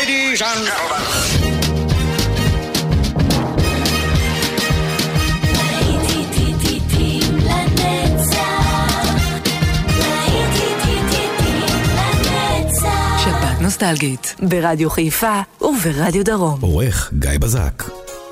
Ladies and gentlemen. שבת נוסטלגית ברדיו חיפה וברדיו דרום. עורך גיא בזק.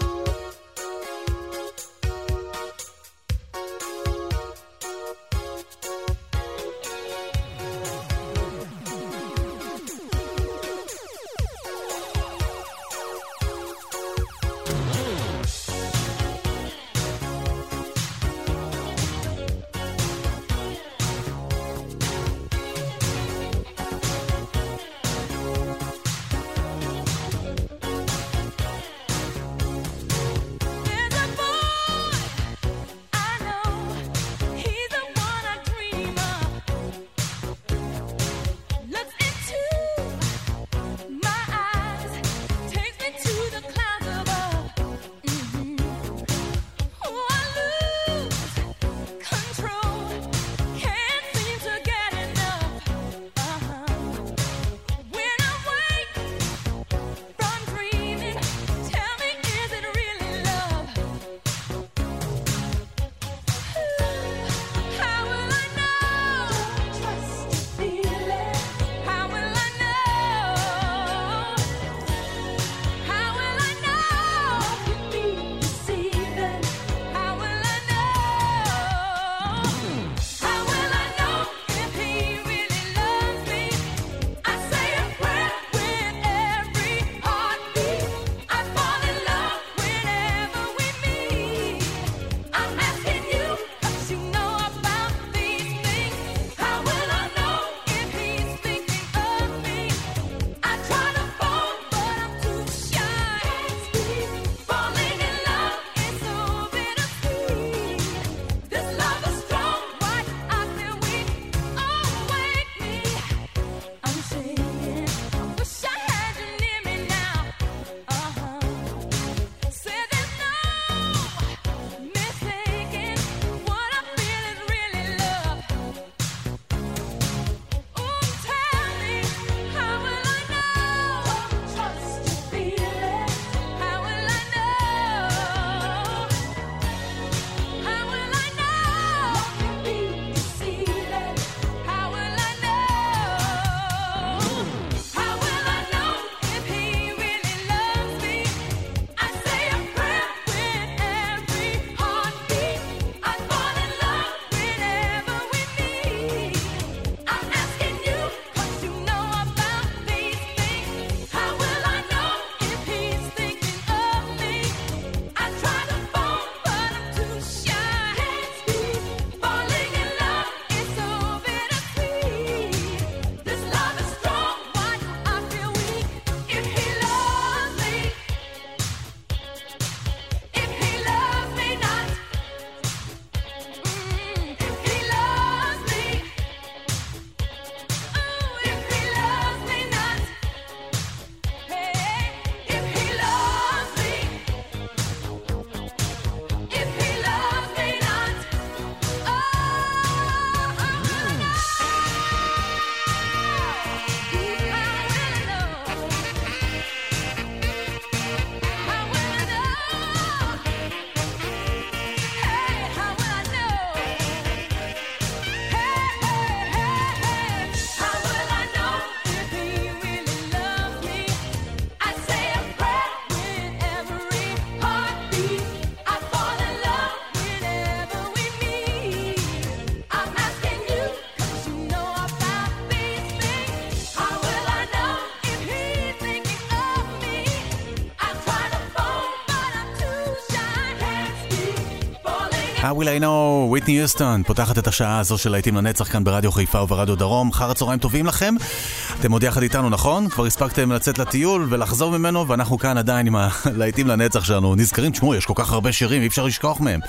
How will I know, וויטני יוסטון פותחת את השעה הזו של להיטים לנצח כאן ברדיו חיפה וברדיו דרום. אחר הצהריים טובים לכם, אתם עוד יחד איתנו, נכון? כבר הספקתם לצאת לטיול ולחזור ממנו, ואנחנו כאן עדיין עם הלהיטים לנצח שלנו. נזכרים, תשמעו, יש כל כך הרבה שירים, אי אפשר לשכוח מהם.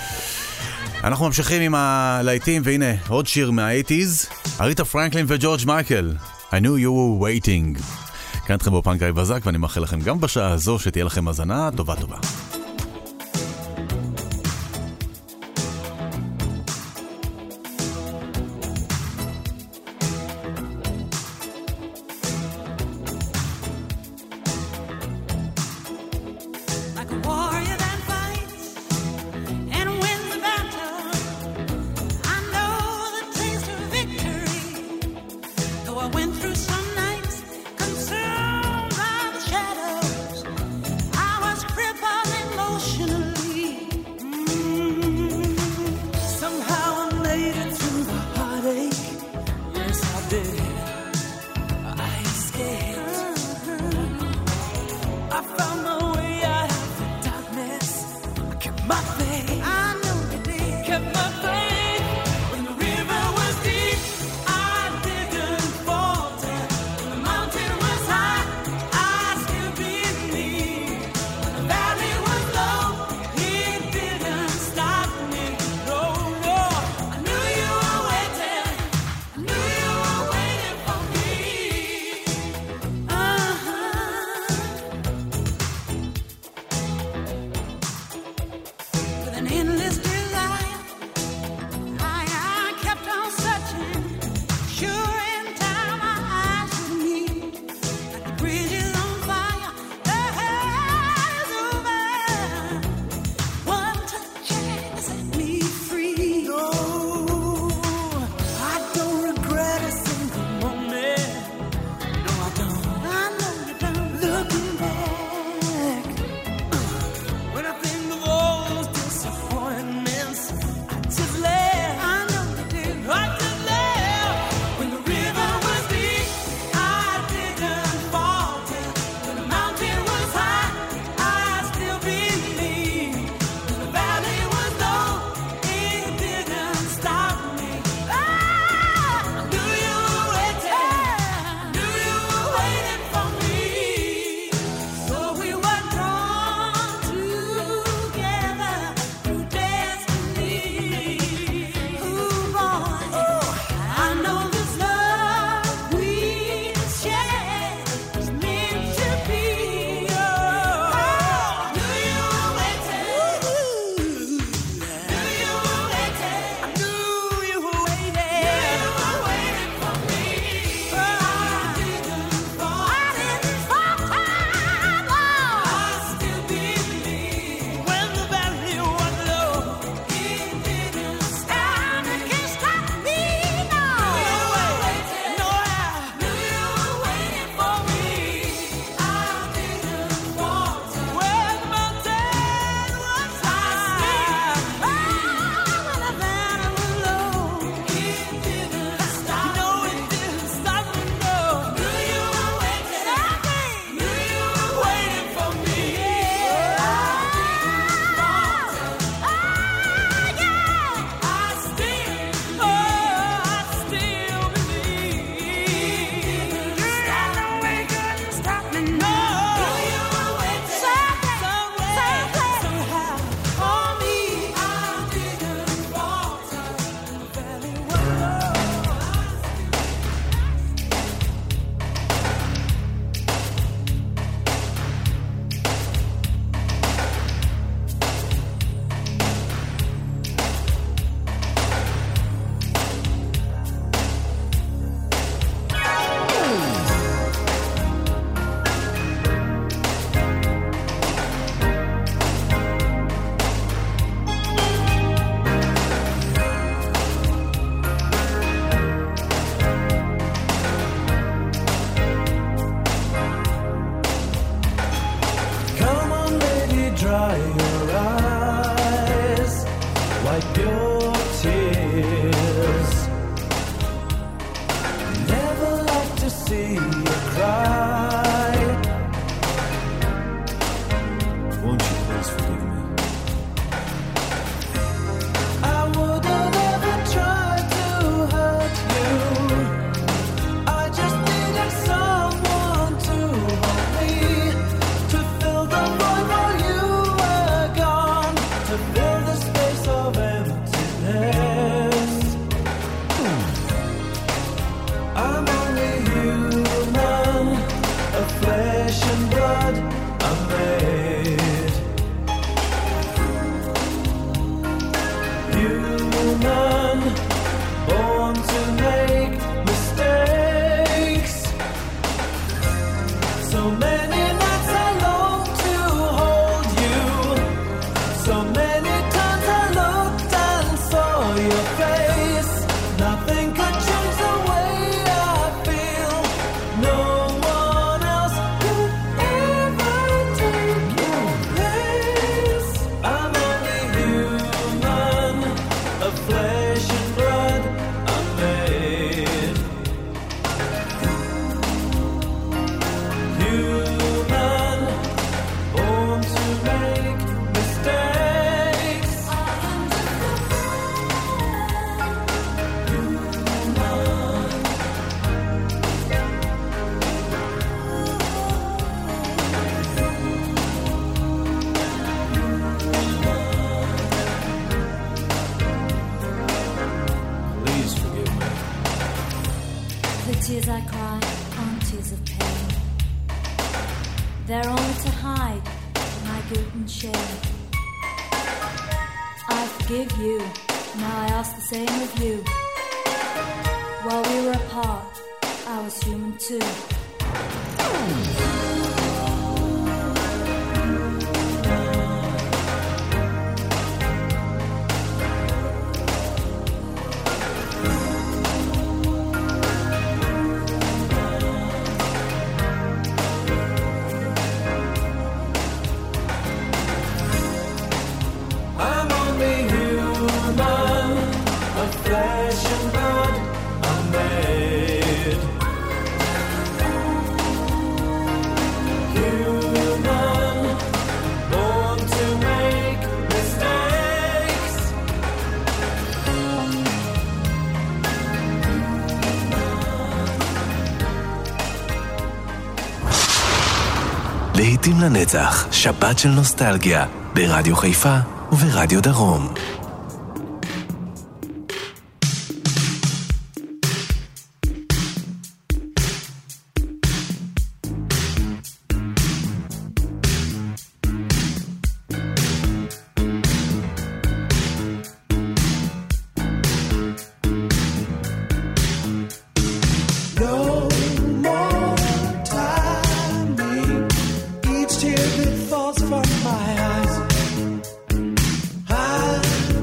אנחנו ממשיכים עם הלהיטים, והנה עוד שיר מה-80s, אריתה פרנקלין וג'ורג' מייקל, I knew you were waiting. כאן אתכם באופן גיא בזק, ואני מאחל לכם גם בשעה הזו שתהיה לכם הזנה טובה טובה. So many nights I long to hold you. They're only to hide my guilt and shame. I forgive you, now I ask the same of you. While we were apart, I was human too. להיטים לנצח, שבת של נוסטלגיה, ברדיו חיפה וברדיו דרום. Tear that falls from my eyes, I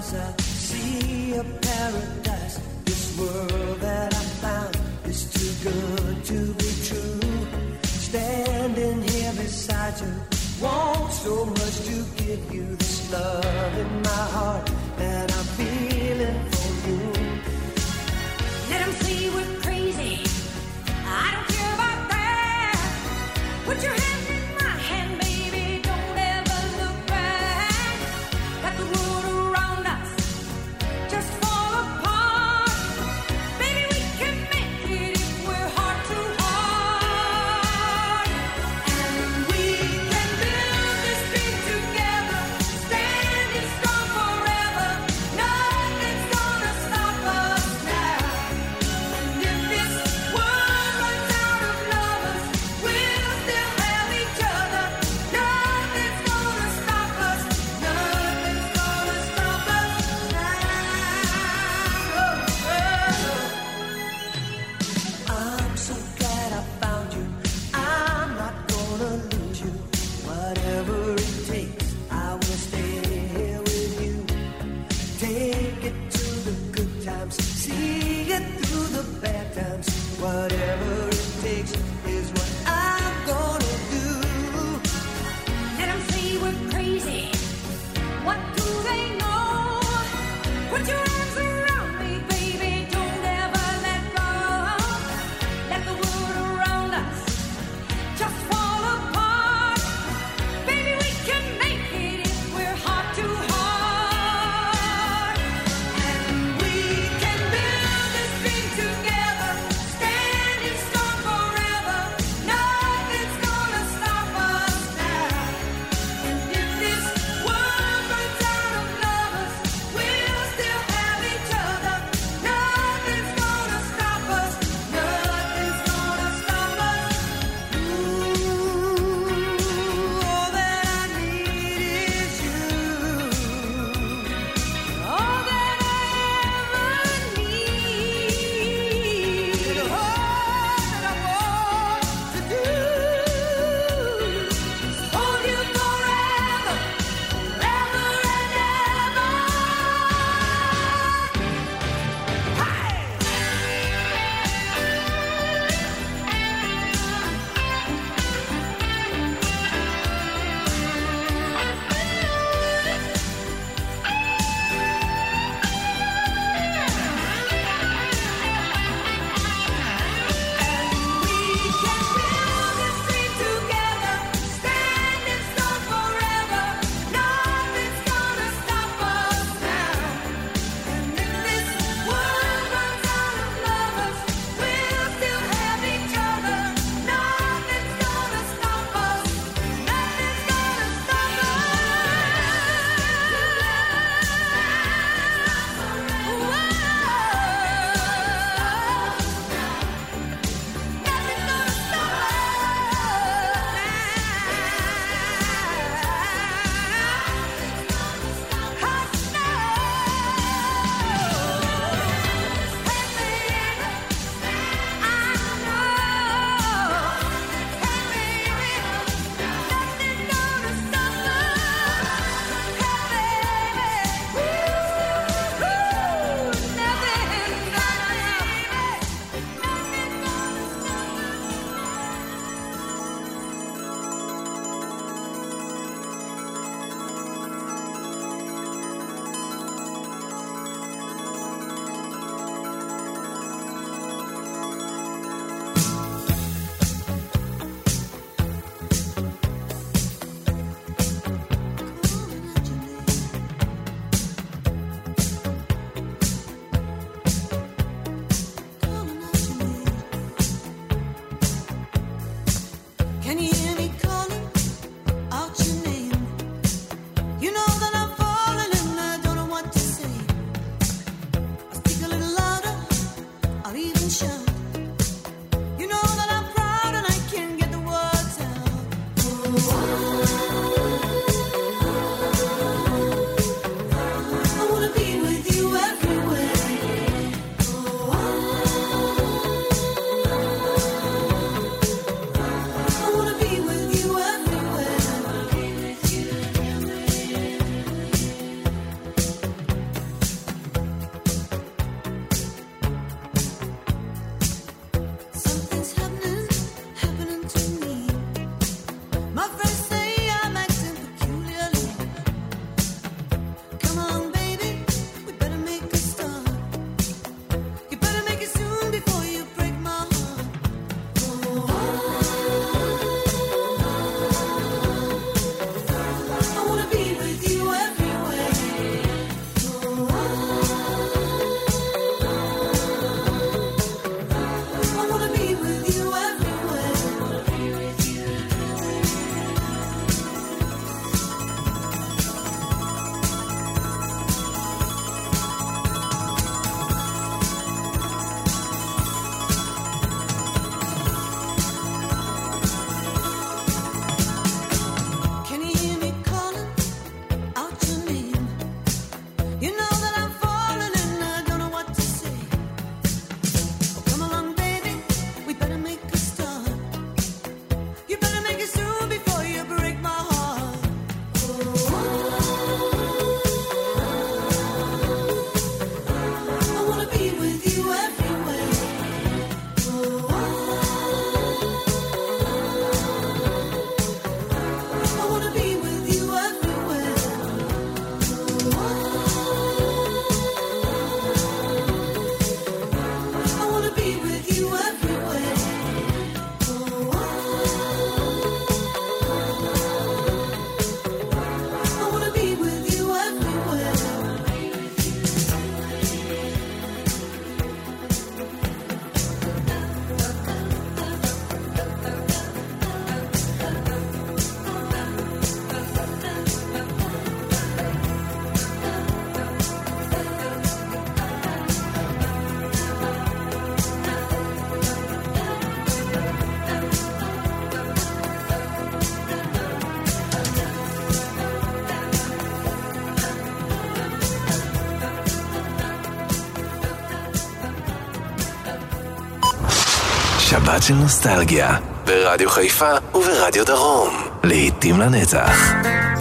I see a paradise. This world that I found is too good to be true. Standing here beside you, want so much to give you this love in my heart that I'm feeling for you. Let them say we're crazy, I don't care about that. Put your hand in my hand, baby, don't ever look back. Let the world around us just fall apart. Baby, we can make it if we're heart to heart. And we can build this dream together, standing strong forever. Nothing's gonna stop us now. And if this world runs out of lovers, we'll still have each other. Nothing's gonna stop us. Nothing's gonna stop us now. I'm so glad I found you. I'm not gonna lose you. Whatever it takes, I will stay here with you. Take it to the good times, see it through the bad times. Whatever it takes is what I'm gonna do. Let them say we're crazy. What do they know? Put your arms around me, baby. Don't ever let go. Let the world around us just fall apart. Baby, we can make it if we're heart to heart. And we can build this dream together, standing strong שבת של נוסטלגיה, ברדיו חיפה וברדיו דרום. לעתים לנצח.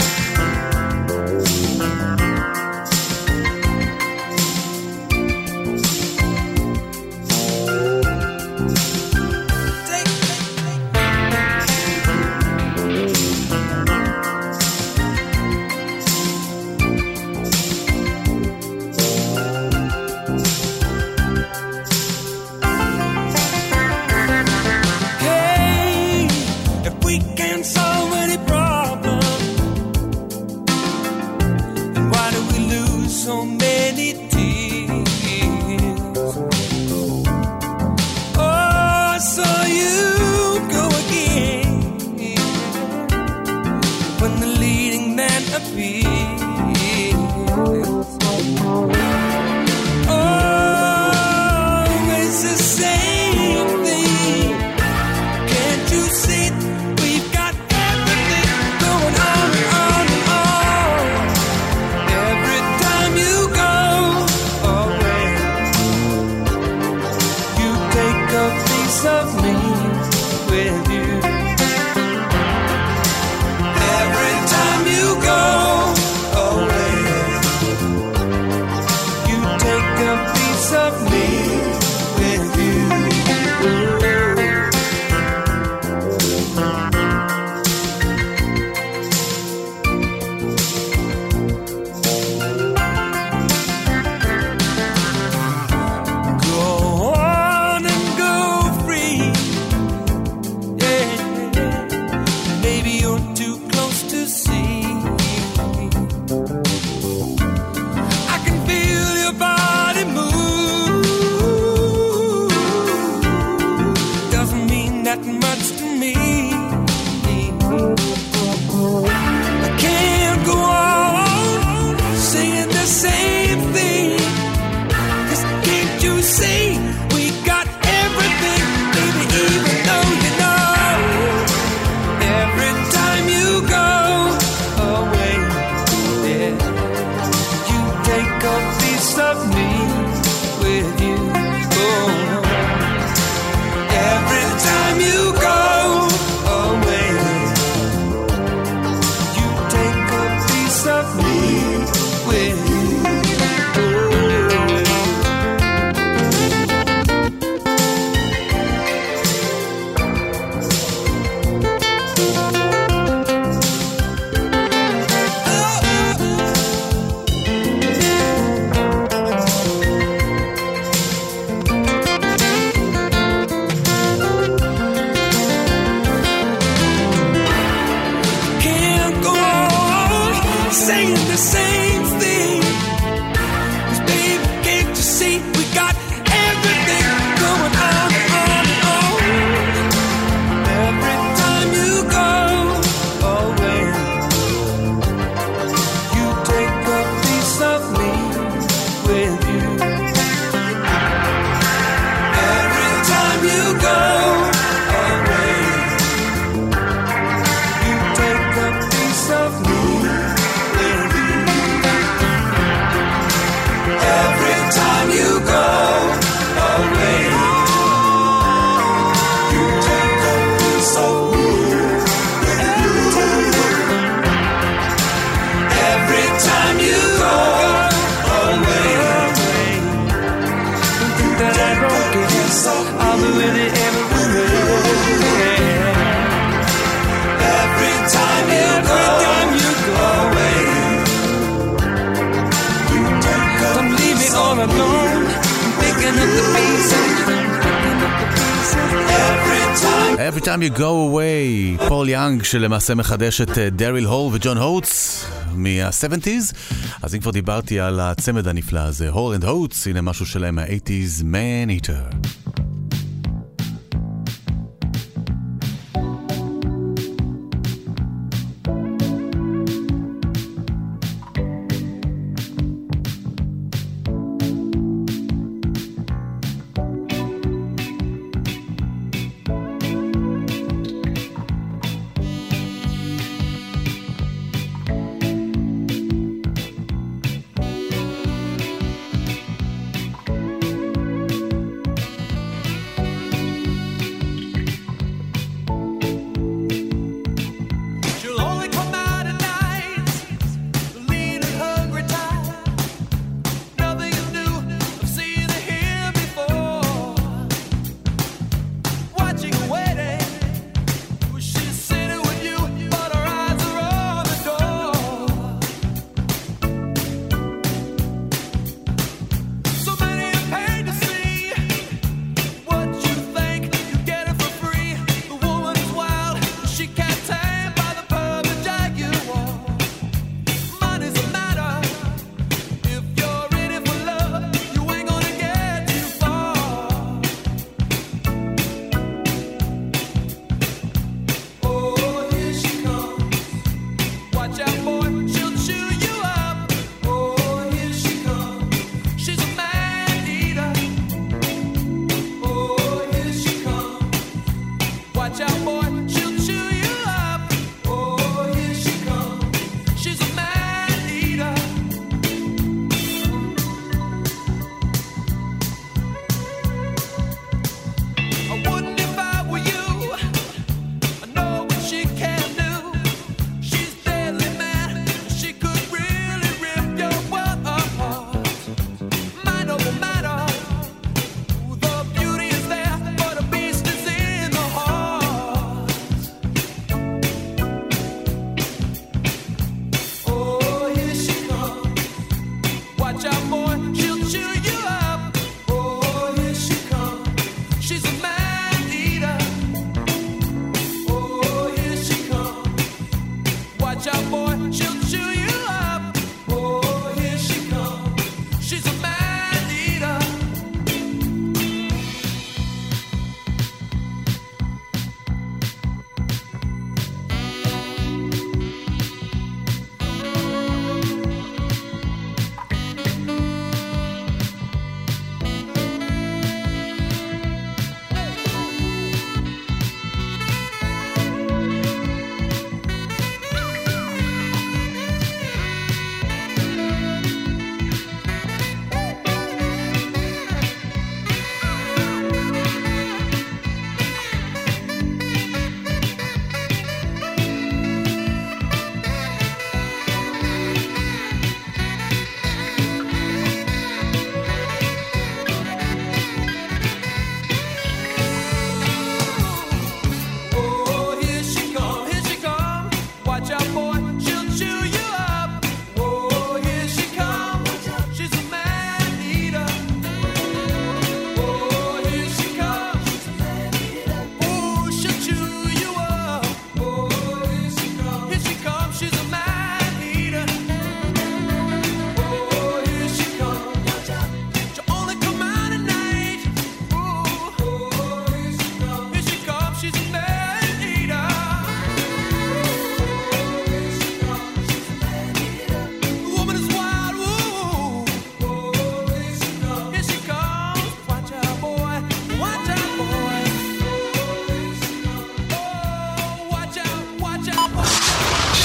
Every time you go away, פול יאנג שלמעשה מחדש את דריל הול וג'ון הוטס מה-70s. אז אם כבר דיברתי על הצמד הנפלא הזה, הול אנד הוטס, הנה משהו שלהם מה-80s, Man Eater.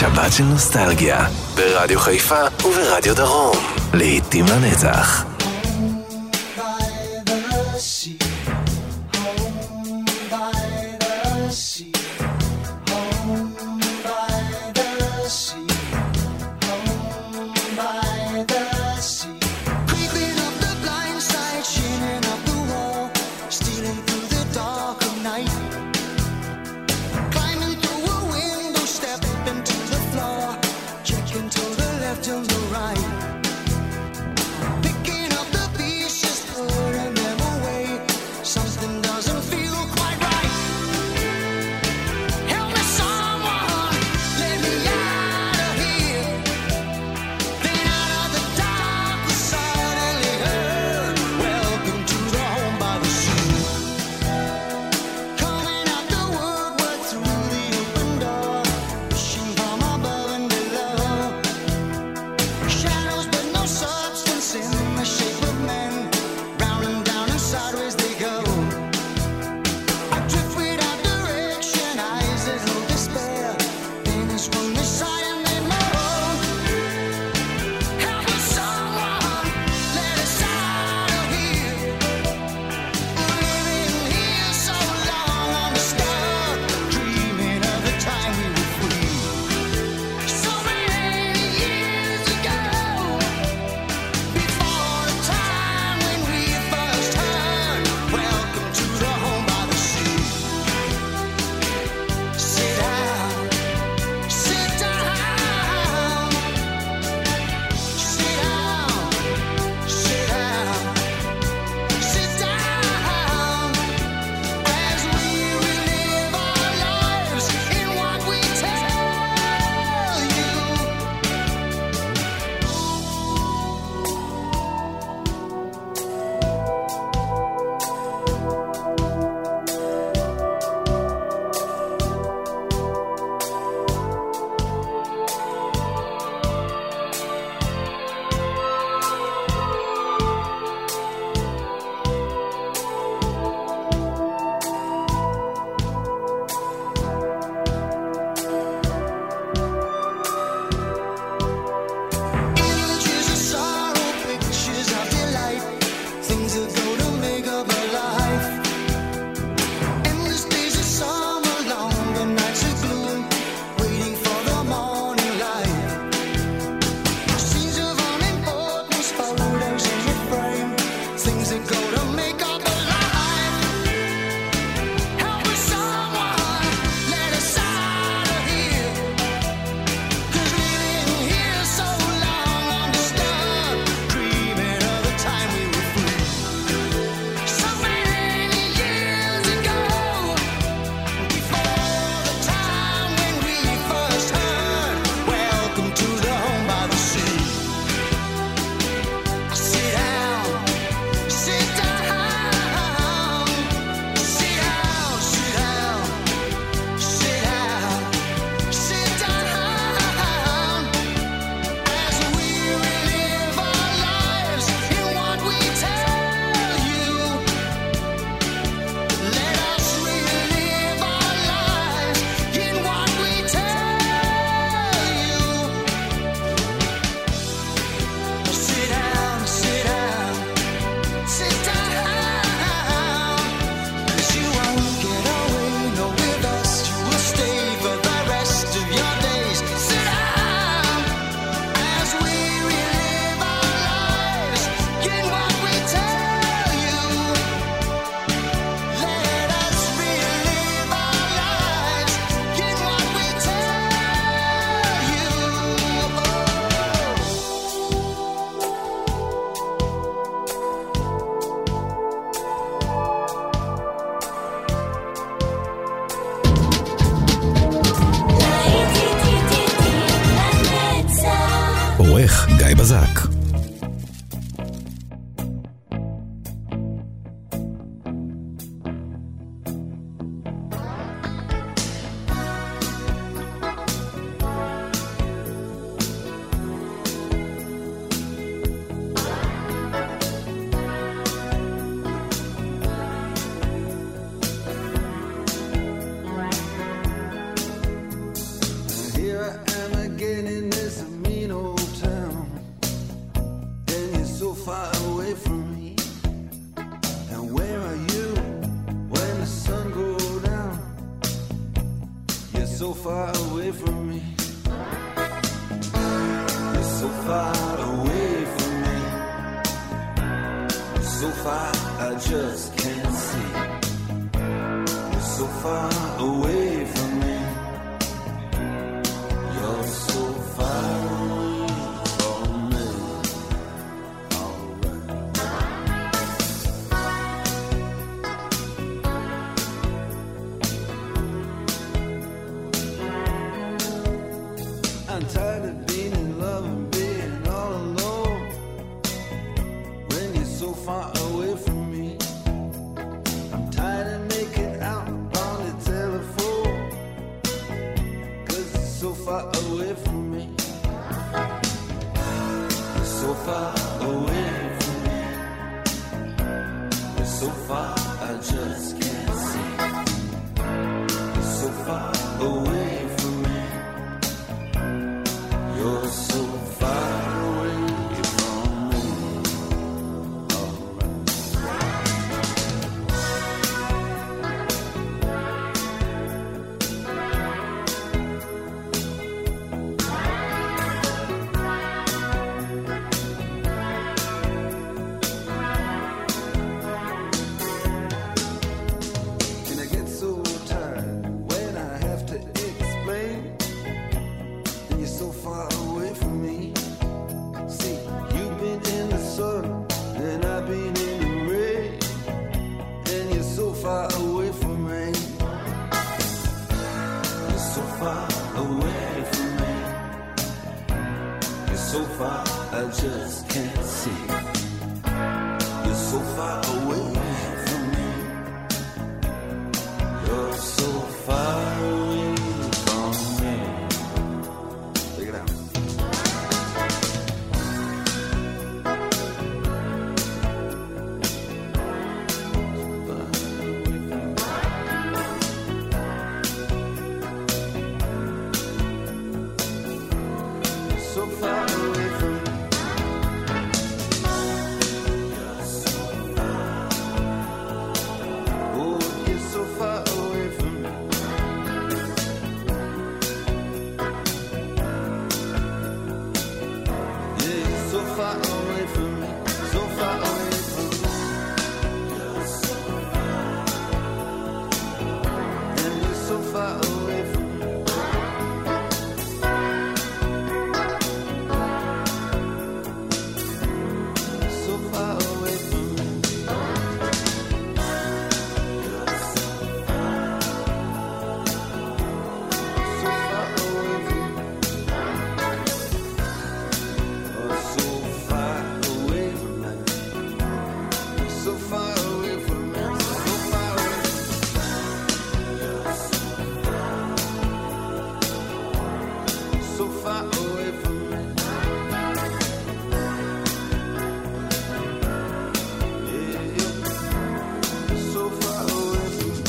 שבת של נוסטלגיה, ברדיו חיפה וברדיו דרום. לעתים לנצח. עורך גיא בזק. Here I am so far away from me. You're so far away from me. So far I just can't see. You're so far away from me. You're so far away from me. I'm tired of being in love and being all alone when you're so far away from me. I'm tired of making out on the telephone 'cause you're so far away from me. You're so far away from me. You're so far I just can't see. You're so far away from me. You're so far away from me. And I get so tired when I have to explain. And you're so far away from me. See, you've been in the sun and I've been in the rain. And you're so far away from me. You're so far away from me. You're so far I just can't see. You're so far away from me. You're so far away from me. Check it out. So far away from me. Oh, you're so far away from me. Yeah, you're so far away from me. So far away from me. And you're so far away from me. So far away from me. So far away from me. Oh, so far away from me. So far away from me. So far away. So far away from me. Yeah, yeah. So far away from me.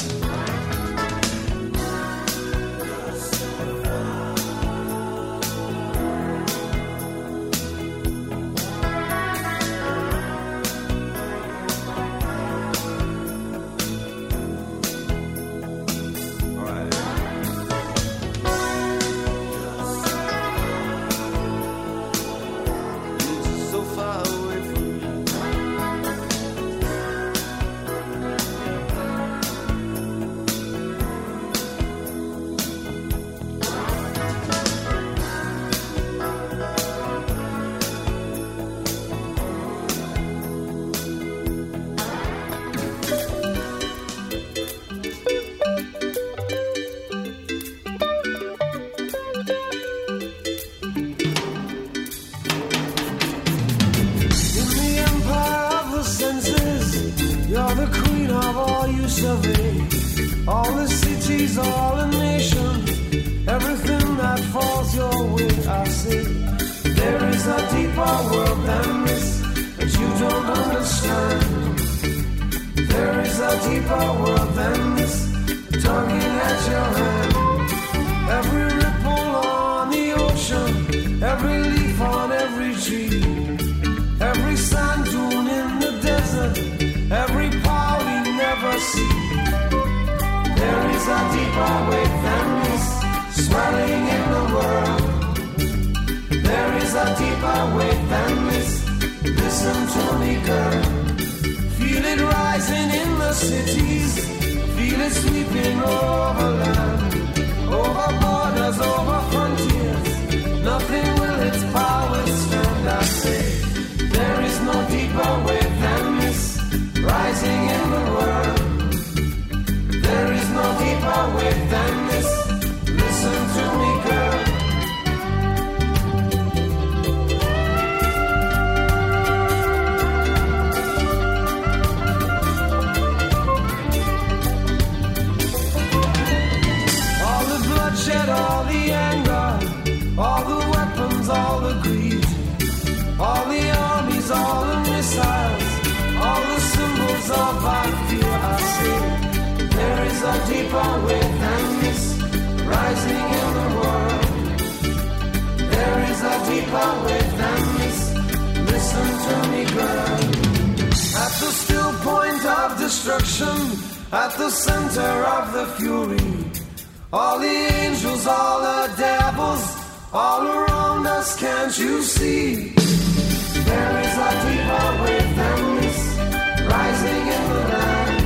All right. You're just so far away from me. In the empire of the senses, you're the queen of all you survey. All the cities, all the nations, everything that falls your way, I say. There is a deeper world than this that you don't understand. There is a deeper world than this, tugging at your hand. Every ripple on the ocean, every leaf on every tree, every sand dune in the desert, every power we never see. There is a deeper way than this, swelling in the world. There is a deeper way than this. Listen to me, girl. Feel it rising in the cities. Feel it sweeping over land, over borders, over frontiers. Nothing will its power stand. I say, there is no deeper way than this. Rising in the world. There is no deeper way than this. Listen to me, girl. Bloodshed, all the anger, all the weapons, all the greed, all the armies, all the missiles, all the symbols of our fear. I say, there is a deeper way than this, rising in the world. There is a deeper way than this. Listen to me, girl. At the still point of destruction, at the center of the fury, all the angels, all the devils, all around us, can't you see? There is a deeper way than this, rising in the land.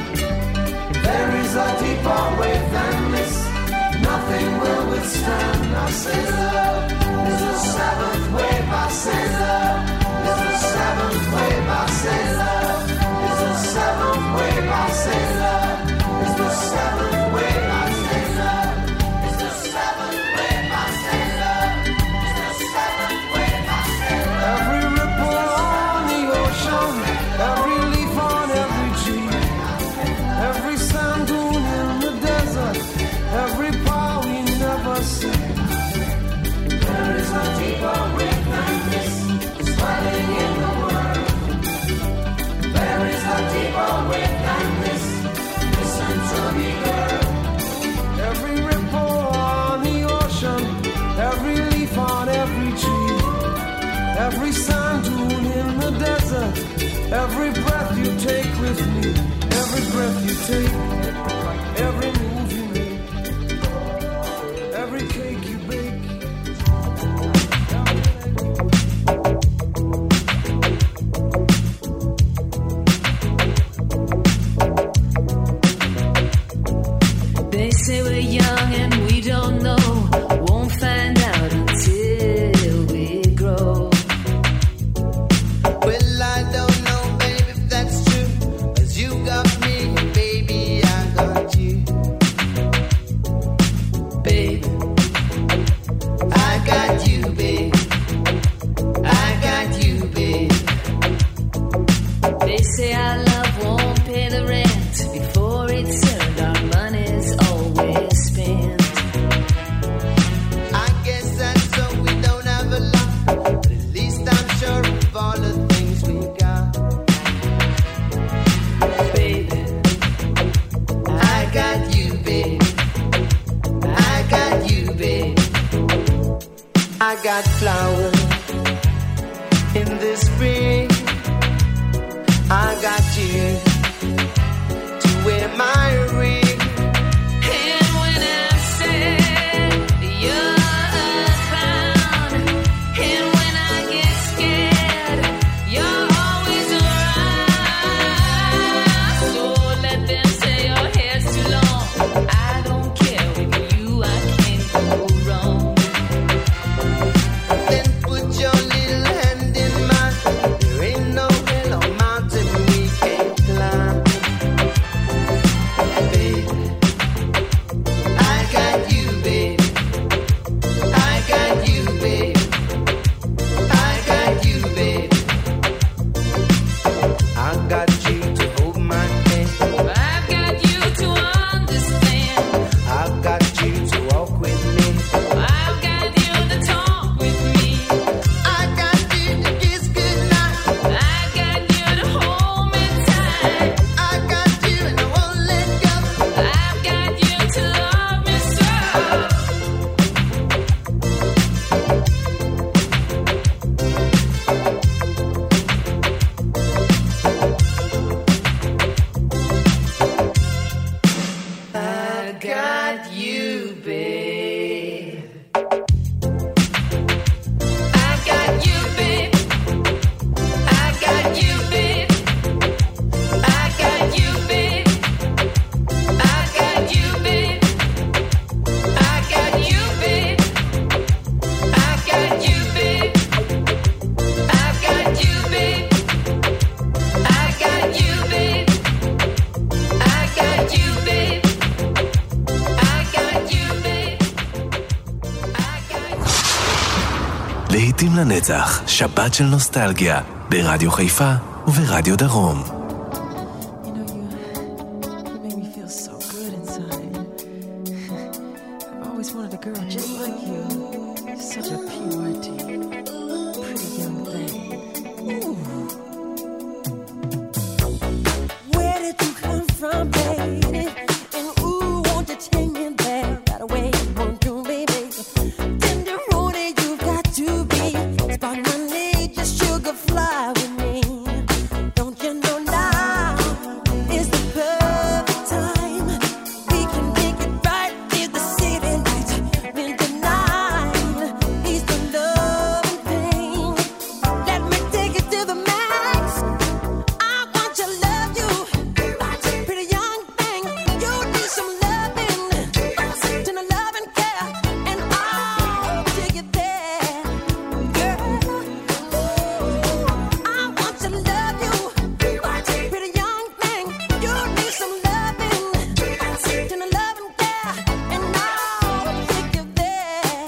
There is a deeper way than this, nothing will withstand. I say love is the seventh wave. I say love is the seventh wave. I say love is the seventh wave. I say love is the seventh wave. I say love is the seventh wave. I say love is the seventh wave. I say love. Every ripple on the ocean, every leaf on every tree, every sand dune in the desert, every power we never see. There is a deeper way than this, swelling in the world. There is a deeper way than this. Listen to me, girl. Every ripple on the ocean, every leaf on every tree, every sand dune in the desert, every breath you take with me, every breath you take, every move you make, every cake you bake. They say we're young and we don't know, won't find out until we grow. Well, I don't know, baby, if that's true. 'Cause you got me, baby, I got you. Babe, I got you, babe. I got you, babe. they say our love won't pay the rent before it's earned. Our money's always spent. I guess that's so we don't have a lot. But at least I'm sure of all the things we got. Babe, I got you, babe. I got you, babe. I got flowers in the spring. I got you to wear my ring. and when I said you're a clown, and when I get scared, you're always around. So let them say your hair's too long. I don't care, with you I can't go wrong. Then put your little hand in mine. There ain't no hill or mountain we can't climb. Baby, I got you, baby. I got you, baby. I got you, baby. I got you to hold my hand. I've got you to understand. I got you to walk with me. I've got you to talk with me. I got you to kiss goodnight. I've got you to hold me tight. I got you and I won't let go. I've got you to love me so. להיטים לנצח, שבת של נוסטלגיה, ברדיו חיפה וברדיו דרום. You know, you make me feel so good inside. I've always wanted a girl just like you. You're such a purity, pretty young thing. Ooh. Where did you come from, baby? And ooh, won't you take me there right away? Won't you, baby? Tender roadie, you've got to be. Spark my need, just sugar fly with me. Don't you know now is the perfect time? We can make it right in the city lights. When the night is the love and pain. Let me take it to the max. I want to love you, pretty young thing. You need some loving, to the love and care, and I'll take it there, girl. I want to love you, pretty young thing. You need some loving, to the love and care, and I'll take you there.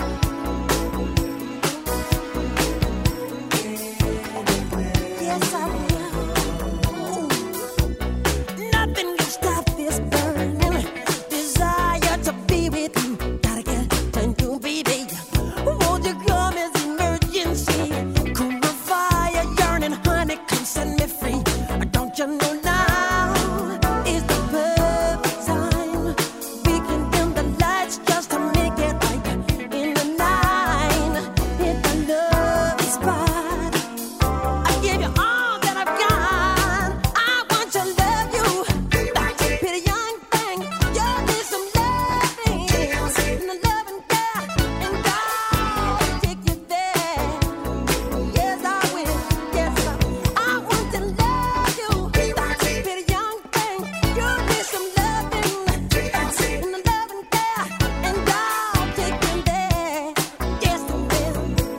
Yes, I will. Nothing can stop this burning desire to be with you. Gotta get to you, baby. Won't you come as emergency? Cool my fire, yearning, honey, come set me free. Don't you know now is the perfect time? We can dim the lights just to make it right in the night. Hit the love spot. I give you all that I've got. I want to love you, pretty young thing. You need some loving, and the love and care, and I'll take you there. Yes, I will. Yes, I want to love you, pretty young thing. You need some loving, and the love and care, and I'll take you there. Yes, I will.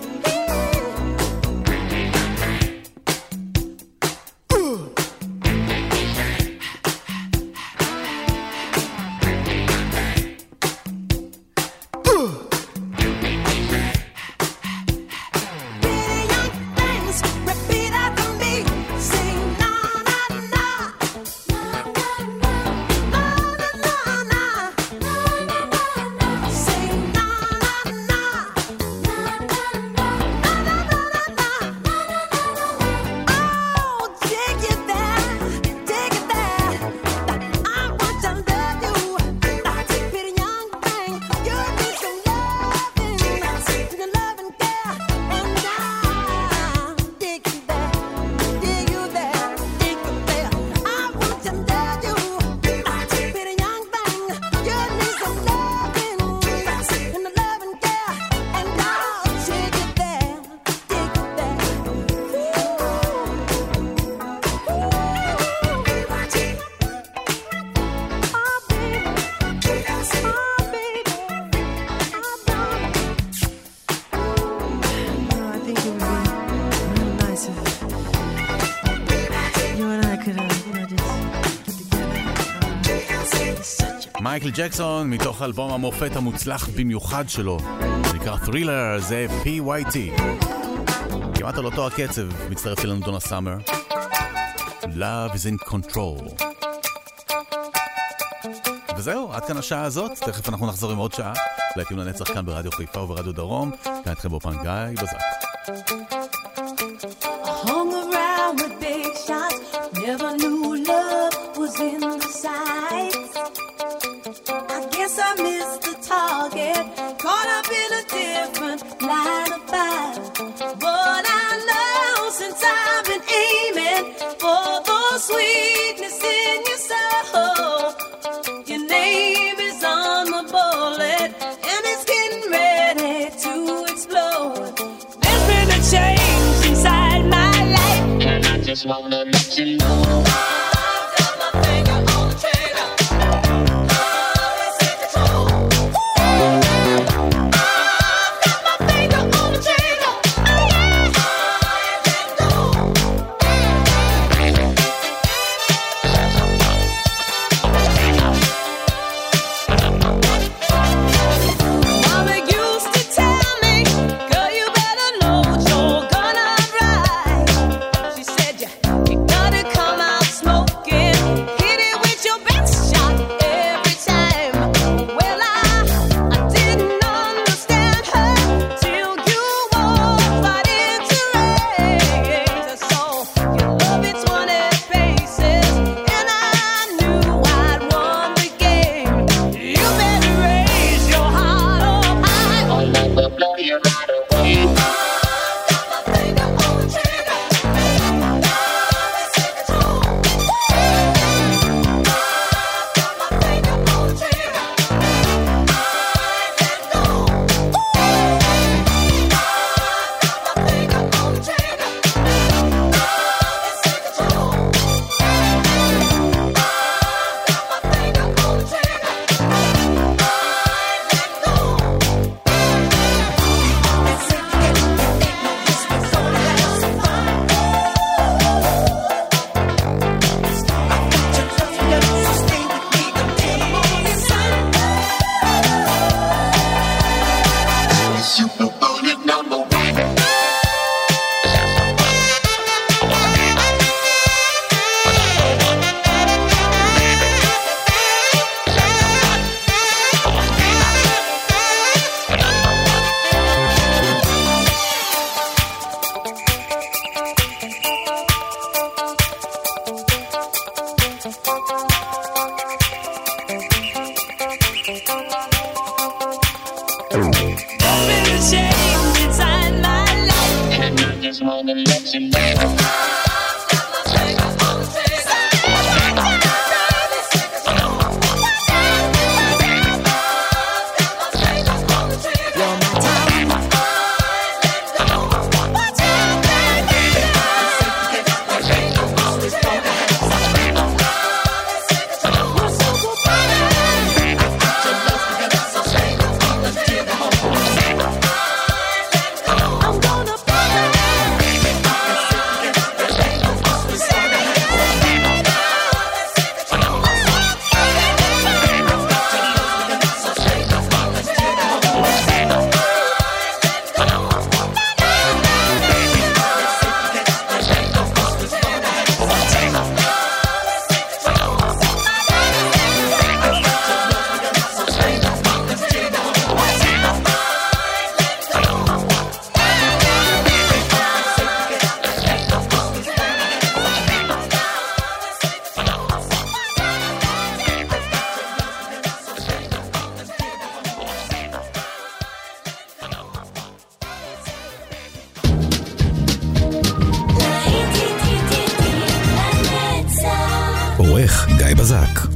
Pretty young things, repeat after me. Sing na na na, na na na, na na na, na na na. Sing na na na, na na na, na na na, na na na. Oh, take it there, take it there. I want to love you, pretty young thing. You need some loving, the love and care, and I'll take you there, take you there, take you there. I want to love you, pretty young thing. You need some loving, and the love and care, and I'll take you there, take you there. I think it would be real nice if you and I could, just get together. מייקל ג'קסון, מתוך אלבום המופת המוצלח במיוחד שלו, זה נקרא Thriller, זה PYT. כמעט על אותו הקצב, מצטרף אלינו דונה סאמר. Love is in control. וזהו, עד כאן השעה הזאת. תכף אנחנו נחזור עם עוד שעה. להיטים לנצח כאן ברדיו חיפה וברדיו דרום. כאן אתכם באופן גיא בזק. Hung around with big shots, never knew love was in the sights. I guess I missed the target, caught up in a different line of fire. But I know since I've been aiming for the sweetness in your soul, your name is on the bullet and it's getting ready to explode. There's been a change inside my life, and I just wanna let you know. I've got my finger on the trigger. Love is in control. I've got my finger on the trigger. Mama used to tell me, girl, you better know what you're עורך גיא בזק.